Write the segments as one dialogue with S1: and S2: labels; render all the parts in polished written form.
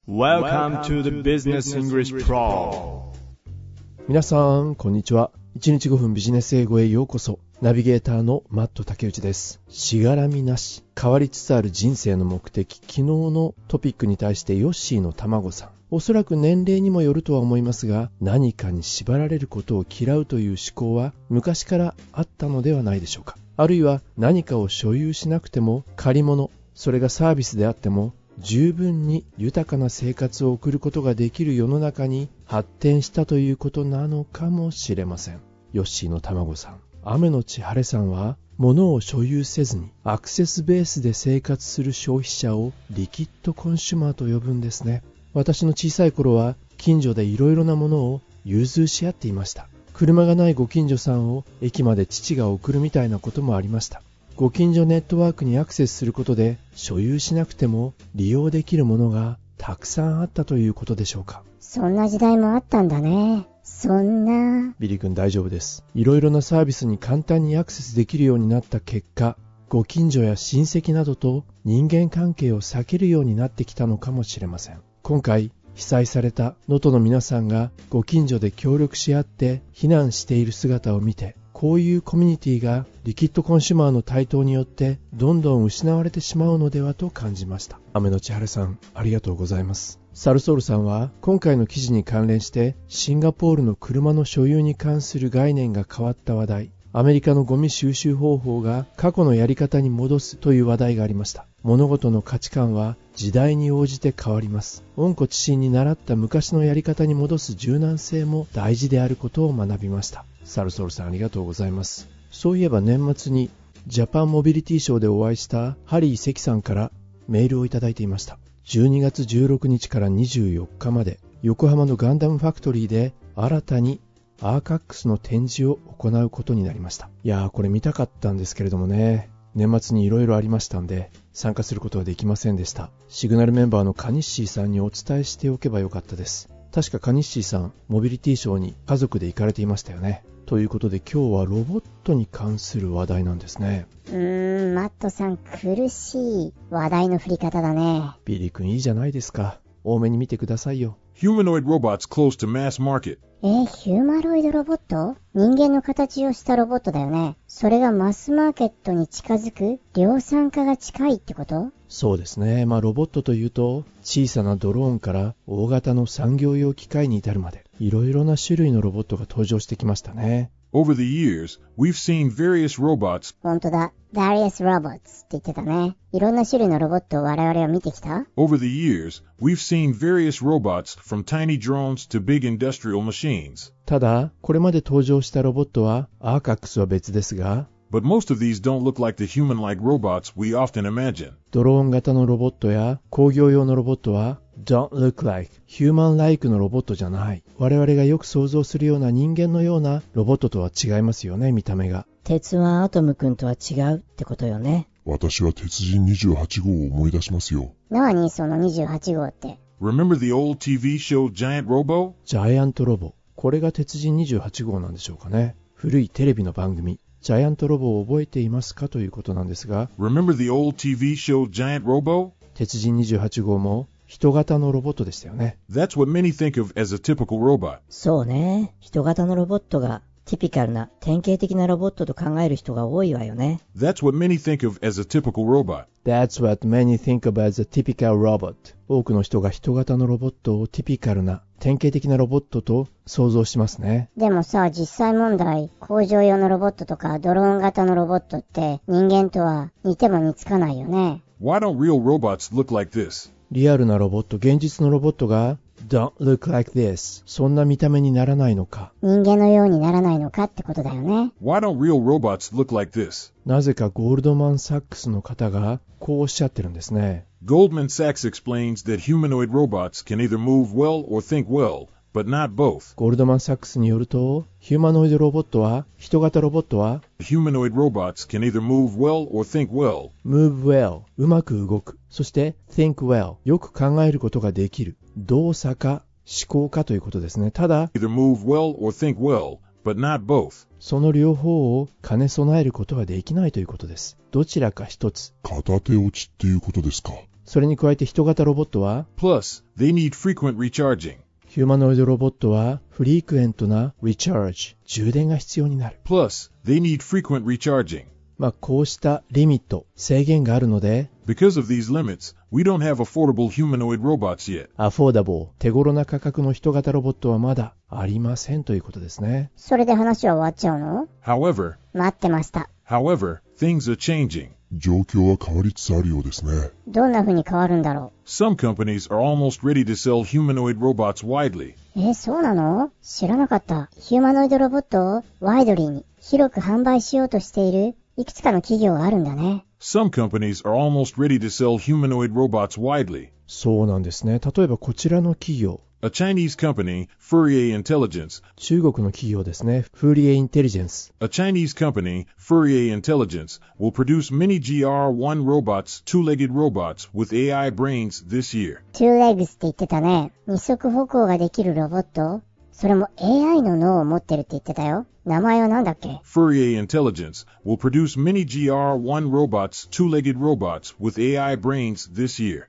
S1: Welcome to the Business English Pro。
S2: 皆さんこんにちは。1日5分ビジネス英語へようこそ。ナビゲーターのマット竹内です。しがらみなし、変わりつつある人生の目的。昨日のトピックに対してヨッシーの卵さん、おそらく年齢にもよるとは思いますが、何かに縛られることを嫌うという思考は昔からあったのではないでしょうか。あるいは何かを所有しなくても借り物、それがサービスであっても十分に豊かな生活を送ることができる世の中に発展したということなのかもしれません。ヨッシーの卵さん、雨のち晴れさんは、物を所有せずにアクセスベースで生活する消費者をリキッドコンシュマーと呼ぶんですね。私の小さい頃は近所でいろいろなものを融通し合っていました。車がないご近所さんを駅まで父が送るみたいなこともありました。ご近所ネットワークにアクセスすることで所有しなくても利用できるものがたくさんあったということでしょうか。
S3: そんな時代もあったんだね。そんな。
S2: ビリー君大丈夫です。いろいろなサービスに簡単にアクセスできるようになった結果、ご近所や親戚などと人間関係を避けるようになってきたのかもしれません。今回被災された能登の皆さんがご近所で協力し合って避難している姿を見て、こういうコミュニティがリキッドコンシュマーの台頭によってどんどん失われてしまうのではと感じました。雨のち晴れさん、ありがとうございます。サルソールさんは今回の記事に関連してシンガポールの車の所有に関する概念が変わった話題、アメリカのゴミ収集方法が過去のやり方に戻すという話題がありました。物事の価値観は時代に応じて変わります。温故知新に習った昔のやり方に戻す柔軟性も大事であることを学びました。サルソールさん、ありがとうございます。そういえば年末にジャパンモビリティショーでお会いしたハリー関さんからメールをいただいていました。12月16日から24日まで横浜のガンダムファクトリーで新たにアーカックスの展示を行うことになりました。いやー、これ見たかったんですけれどもね、年末にいろいろありましたんで参加することはできませんでした。シグナルメンバーのカニッシーさんにお伝えしておけばよかったです。確かカニッシーさん、モビリティショーに家族で行かれていましたよね。ということで今日はロボットに関する話題なんですね。
S3: マットさん、苦しい話題の振り方だね。
S2: ビリー君いいじゃないですか。多めに見てくださいよ。
S1: Humanoid robots close to mass market。
S3: ヒューマロイドロボット？人間の形をしたロボットだよね。それがマスマーケットに近づく、量産化が近いってこと？
S2: そうですね。ロボットというと小さなドローンから大型の産業用機械に至るまでいろいろな種類のロボットが登場してきましたね。
S1: Over the years, we've seen various robots.
S3: 本当だ。various robots って言ってたね。いろんな種類のロボットを我々は見てきた。
S1: Over the years, we've seen various robots from tiny drones to big industrial machines.
S2: ただ、これまで登場したロボットはアーカックスは別ですが、
S1: But most of these don't look like the human-like robots we often imagine.
S2: ドローン型のロボットや工業用のロボットは don't look like human-like のロボットじゃない。我々がよく想像するような人間のようなロボットとは違いますよね、見た目が。
S4: 鉄腕アトム君とは違うってことよね。
S5: 私は鉄人28号を思い出しますよ。
S3: 何その28号って。
S1: Remember the old TV show Giant Robo?
S2: ジャイアントロボ。これが鉄人28号なんでしょうかね。古いテレビの番組。ジャイアントロボを覚えていますかということなんですが、
S1: Remember the old TV show Giant Robo?
S2: 鉄人28号も人型のロボットでしたよね。
S1: That's what many think of as a typical robot.
S4: そうね。人型のロボットがティピカルな典型的なロボットと考える人が多いわよね。
S1: That's what many think of as a typical robot.
S2: That's what many think of as a typical robot. 多くの人が人型のロボットをティピカルな典型的なロボットと想像しますね。
S3: でもさ、実際問題、工場用のロボットとかドローン型のロボットって人間とは似ても似つかないよね。
S1: Why don't real robots look like this?
S2: リアルなロボット、現実のロボットが Don't look like this. そんな見た目にならないのか。
S3: 人間のようにならないのかってことだよね。
S1: Why don't real robots look like this?
S2: なぜかゴールドマン・サックスの方がこうおっしゃってるんですね。
S1: Goldman Sachs explains that humanoid robots can either move well or think well, but not both.
S2: ゴールドマン・サックスによると、ヒューマノイドロボットは、人型ロボットは、
S1: Humanoid robots can either move well or think well.
S2: move well、うまく動く。そして、think well、よく考えることができる。動作か、思考かということですね。ただ、
S1: Either move well or think well, but not both.
S2: その両方を兼ね備えることはできないということです。どちらか一つ。
S5: 片手落ちっていうことですか。
S2: それに加えて人型ロボットは、
S1: Plus, they need frequent recharging.
S2: ヒューマノイドロボットはフリークエントなリチャージ、充電が必要になる。
S1: Plus, they need frequent recharging.
S2: こうしたリミット、制限があるので、
S1: Because of these limits, we don't have affordable humanoid robots yet.
S2: アフォーダボー、手頃な価格の人型ロボットはまだありませんということですね。
S3: それで話は終わっちゃうの？
S1: However,
S3: 待ってました。
S1: things are changing.
S5: 状況は変わりつつあるようですね。
S3: どんな風に変わるんだろ
S1: Some companies are almost ready to sell humanoid robots widely.
S3: う。そうなの？知らなかった。ヒューマノイドロボットをワイドリーに広く販売しようとしているいくつかの企業があるんだね。
S1: Some companies are almost ready to sell humanoid robots widely.
S2: そうなんですね。例えばこちらの企業。
S1: A Chinese company, Fourier Intelligence.
S2: 中国の企業ですね。フーリエインテリジェンス。
S1: A Chinese company, Fourier Intelligence, will produce many GR1 robots, two-legged robots, with AI brains this year.
S3: Two legs って言ってたね。二足歩行ができるロボット？それも AI の脳を持ってるって言ってたよ。名前はなんだっけ？
S1: Fourier Intelligence will produce many GR1 robots, two-legged robots, with AI brains this year.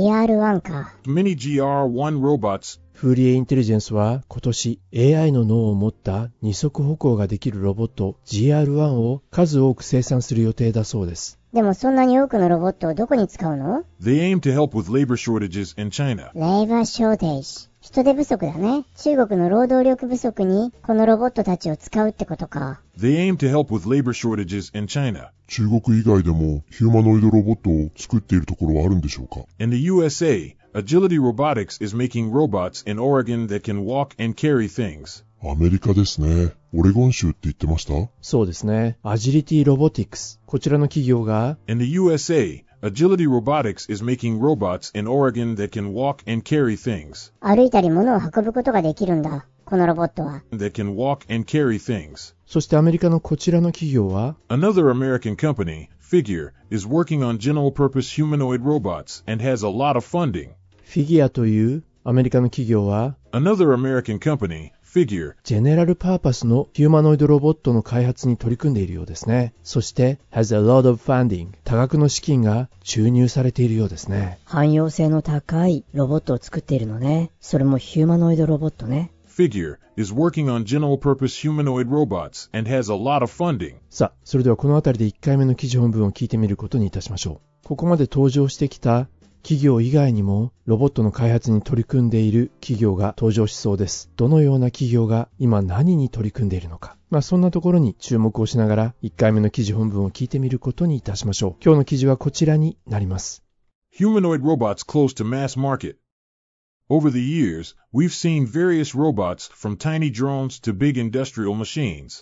S3: GR1 か。
S1: Many GR1 robots.
S2: フーリエインテリジェンスは今年 AI の脳を持った二足歩行ができるロボット GR1 を数多く生産する予定だそうです。
S3: でもそんなに多くのロボットをどこに使うの？
S1: They aim to help with labor shortages in China.
S3: Labor shortage。人手不足だね。中国の労働力不足にこのロボットたちを使うってことか。
S1: They aim to help with labor shortages in China.
S5: 中国以外でもヒューマノイドロボットを作っているところはあるんでしょうか？
S1: In the USA, Agility Robotics is making robots in Oregon that can walk and carry things.
S5: アメリカですね。オレゴン州って言ってました？
S2: そうですね。アジリティロボティクス。こちらの企業が
S1: In the USA, Agility Robotics is making robots in Oregon that can walk and carry things.
S3: 歩いたり物を運ぶことができるんだ。このロボットは。
S1: That can walk and carry things.
S2: そしてアメリカのこちらの企業は
S1: Another American company, Figure, is working on general-purpose humanoid robots and has a lot of funding.
S2: フィギュアというアメリカの企業は
S1: Another American company, Figure,
S2: ジェネラルパーパスのヒューマノイドロボットの開発に取り組んでいるようですね。そして has a lot of funding 多額の資金が注入されているようですね。
S4: 汎用性の高いロボットを作っているのね。それもヒューマノイドロボットね。
S1: Figure, is working on general-purpose humanoid robots and has a lot of funding.
S2: さあ、それではこのあたりで1回目の記事本文を聞いてみることにいたしましょう。ここまで登場してきた企業以外にもロボットの開発に取り組んでいる企業が登場しそうです。どのような企業が今何に取り組んでいるのか。そんなところに注目をしながら1回目の記事本文を聞いてみることにいたしましょう。今日の記事はこちらになります。
S1: Humanoid robots close to mass market.Over the years, we've seen various robots from tiny drones to big industrial machines.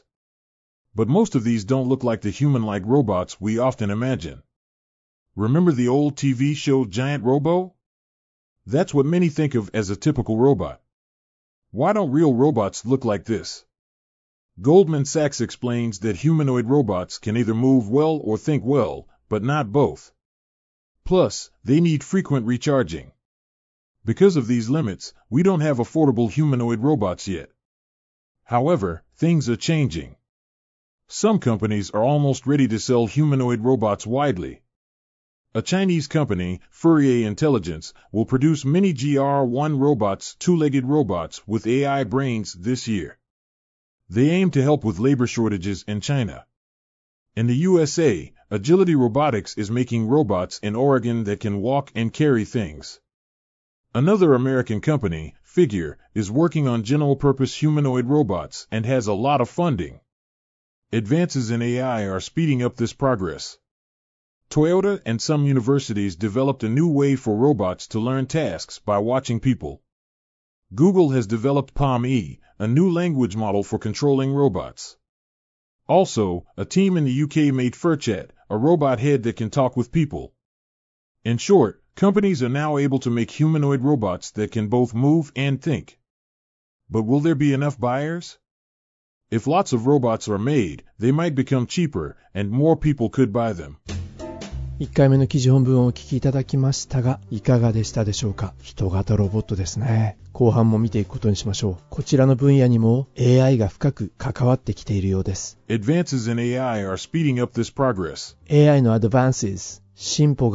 S1: But most of these don't look like the human-like robots we often imagine. Remember the old TV show Giant Robo? That's what many think of as a typical robot. Why don't real robots look like this? Goldman Sachs explains that humanoid robots can either move well or think well, but not both. Plus, they need frequent recharging.Because of these limits, we don't have affordable humanoid robots yet. However, things are changing. Some companies are almost ready to sell humanoid robots widely. A Chinese company, Fourier Intelligence, will produce many GR1 robots, two-legged robots, with AI brains this year. They aim to help with labor shortages in China. In the USA, Agility Robotics is making robots in Oregon that can walk and carry things.Another American company, Figure, is working on general-purpose humanoid robots and has a lot of funding. Advances in AI are speeding up this progress. Toyota and some universities developed a new way for robots to learn tasks by watching people. Google has developed PaLM-E, a new language model for controlling robots. Also, a team in the UK made FurChat, a robot head that can talk with people. In short,Companies are now able to make humanoid robots that can both move and think. But will there be enough buyers? If lots of robots are made, they might become cheaper, and more people could buy them.
S2: 1回目の記事本文をお聞きいただきましたが、いかがでしたでしょうか。人型ロボットですね。後半も見ていくことにしましょう。こちらの分野にも AI が深く関わってきているようです。
S1: Advances in AI are speeding up this progress.
S2: AI の advances、進歩が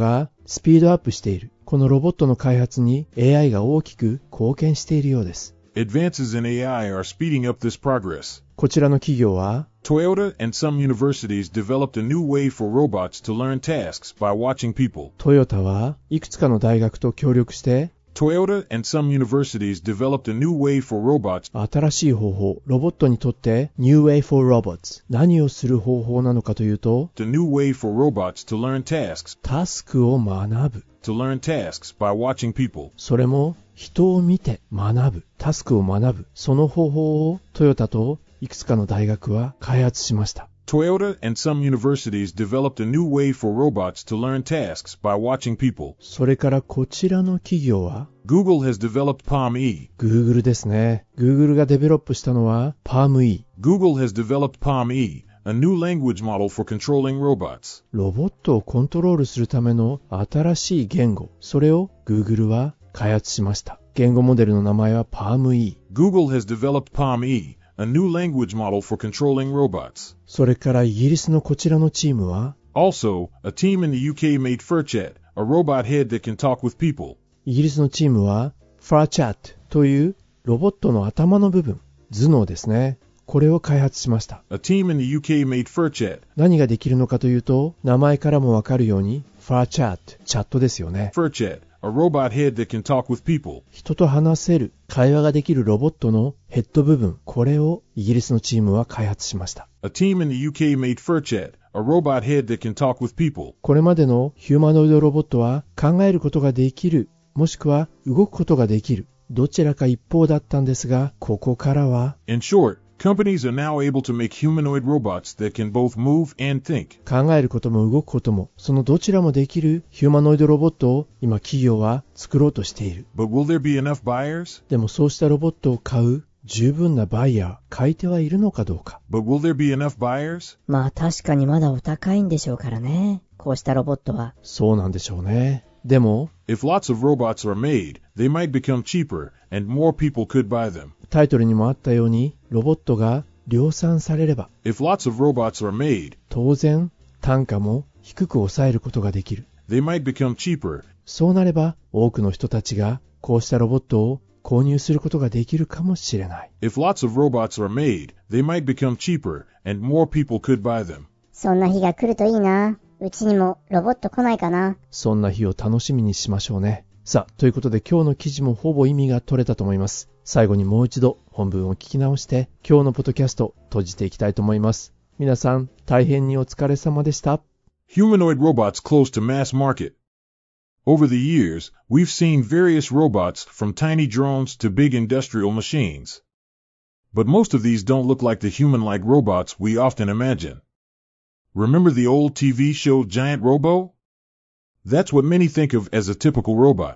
S2: スピードアップしている。このロボットの開発に AI が大きく貢献しているようです。
S1: Advances in AI are speeding up this progress.
S2: こちらの企業は、
S1: Toyota and some universities developed a new way for robots to learn tasks by watching people.
S2: トヨタはいくつかの大学と協力して、
S1: Toyota and some universities developed a new way for robots.
S2: 新しい方法、ロボットにとって New Way for Robots。何をする方法なのかというと、
S1: The new way for robots to learn tasks.
S2: タスクを学ぶ。
S1: To learn tasks by watching people.
S2: それも人を見て学ぶ。タスクを学ぶ。その方法をトヨタといくつかの大学は開発しました。
S1: Toyota and some universities developed a new way for robots to learn tasks by watching people.
S2: それからこちらの企業は
S1: Google has developed Palm-E.
S2: Google ですね。Google がデベロップしたのは Palm-E。
S1: Google has developed Palm-E, a new language model for controlling robots.
S2: ロボットをコントロールするための新しい言語。それを Google は開発しました。言語モデルの名前は Palm-E。
S1: Google has developed Palm-E, a new language model for controlling robots.
S2: それからイギリスのこちらのチームは
S1: Also, a team in the UK made Furchat, a robot head that can talk with people.
S2: イギリスのチームは Furchat というロボットの頭の部分、頭脳ですね。これを開発しました。
S1: A team in the UK made Furchat.
S2: 何ができるのかというと、名前からもわかるように Furchat、チャットですよね。
S1: Furchat, a robot head that can talk with people.
S2: 人と話せる、会話ができるロボットのヘッド部分、これをイギリスのチームは開発しました。
S1: A team in the UK made Furchat, a robot head that can talk with people.
S2: これまでのヒューマノイドロボットは考えることができる、もしくは動くことができる、どちらか一方だったんですが、ここからは
S1: In short, companies are now able to make humanoid robots that can both move and think.
S2: 考えることも動くことも、そのどちらもできるヒューマノイドロボットを今企業は作ろうとしている。
S1: But will there be enough buyers?
S2: でもそうしたロボットを買う十分なバイヤー、買い手はいるのかどうか。
S1: But will there be enough buyers?
S4: まあ確かにまだお高いんでしょうからね。こうしたロボットは。
S2: そうなんでしょうね。でも、
S1: If lots of robots are made, they might become cheaper, and more people could buy them.
S2: タイトルにもあったように、ロボットが量産されれば、
S1: If lots of robots are made,
S2: 当然単価も低く抑えることができる。
S1: they might become cheaper.
S2: そうなれば多くの人たちがこうしたロボットを購入することができるかもしれない。
S1: If lots of robots are made, they might become cheaper, and more people could buy them.
S3: そんな日が来るといいな。うちにもロボット来ないかな。
S2: そんな日を楽しみにしましょうね。さあ、ということで今日の記事もほぼ意味が取れたと思います。最後にもう一度本文を聞き直して今日のポッドキャスト閉じていきたいと思います。皆さん大変にお疲れ様でした。
S1: Humanoid robots close to mass market. Over the years, we've seen various robots from tiny drones to big industrial machines. But most of these don't look like the human-like robots we often imagine. Remember the old TV show Giant Robo? That's what many think of as a typical robot.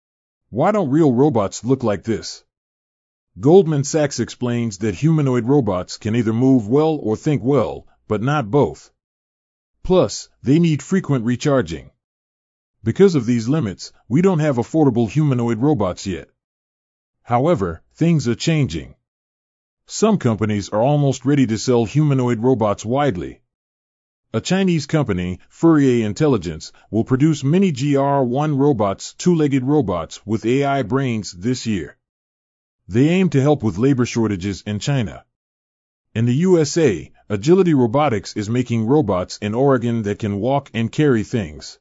S1: Why don't real robots look like this? Goldman Sachs explains that humanoid robots can either move well or think well, but not both. Plus, they need frequent recharging. Because of these limits, we don't have affordable humanoid robots yet. However, things are changing. Some companies are almost ready to sell humanoid robots widely. A Chinese company, Fourier Intelligence, will produce many GR1 robots, two-legged robots with AI brains this year. They aim to help with labor shortages in China. In the USA, Agility Robotics is making robots in Oregon that can walk and carry things.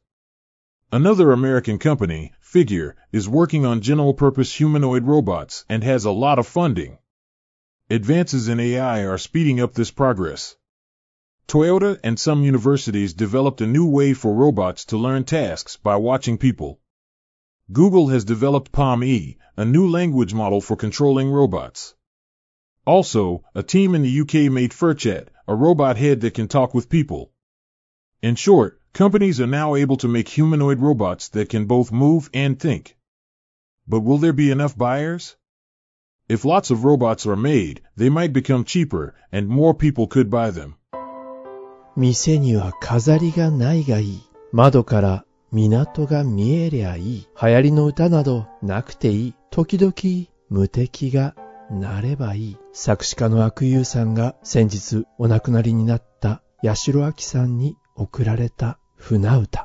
S1: Another American company, Figure, is working on general-purpose humanoid robots and has a lot of funding. Advances in AI are speeding up this progress. Toyota and some universities developed a new way for robots to learn tasks by watching people. Google has developed Palm-E, a new language model for controlling robots. Also, a team in the UK made Furchat, a robot head that can talk with people. In short, companies are now able to make humanoid robots that can both move and think. But will there be enough buyers? If lots of robots are made, they might become cheaper, and more people could buy them.
S2: 店には飾りがないがいい。窓から港が見えりゃいい。流行りの歌などなくていい。時々無敵がなればいい。作詞家の阿久悠さんが先日お亡くなりになった八代亜紀さんに贈られた船歌。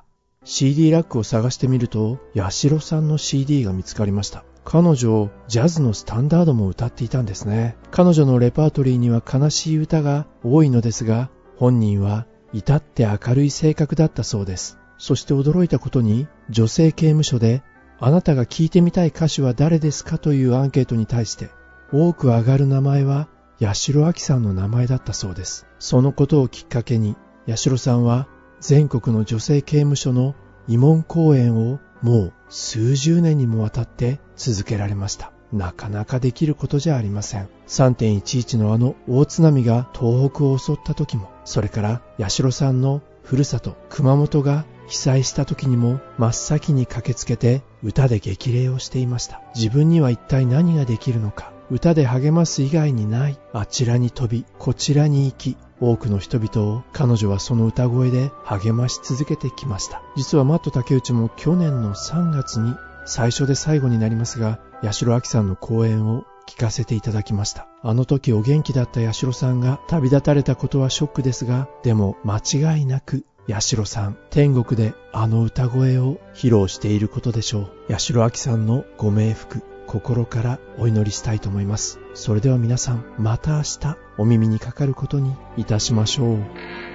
S2: CD ラックを探してみると、八代さんの CD が見つかりました。彼女、ジャズのスタンダードも歌っていたんですね。彼女のレパートリーには悲しい歌が多いのですが、本人は至って明るい性格だったそうです。そして驚いたことに、女性刑務所で、あなたが聴いてみたい歌手は誰ですかというアンケートに対して、多く上がる名前は、八代亜紀さんの名前だったそうです。そのことをきっかけに、八代さんは全国の女性刑務所の慰問講演をもう数十年にもわたって続けられました。なかなかできることじゃありません。3.11 のあの大津波が東北を襲った時も、それから八代さんのふるさと熊本が被災した時にも真っ先に駆けつけて歌で激励をしていました。自分には一体何ができるのか。歌で励ます以外にない。あちらに飛び、こちらに行き、多くの人々を彼女はその歌声で励まし続けてきました。実はマット竹内も去年の3月に最初で最後になりますが、八代亜紀さんの講演を聞かせていただきました。あの時お元気だった八代さんが旅立たれたことはショックですが、でも間違いなく八代さん、天国であの歌声を披露していることでしょう。八代亜紀さんのご冥福、心からお祈りしたいと思います。それでは皆さん、また明日お耳にかかることにいたしましょう。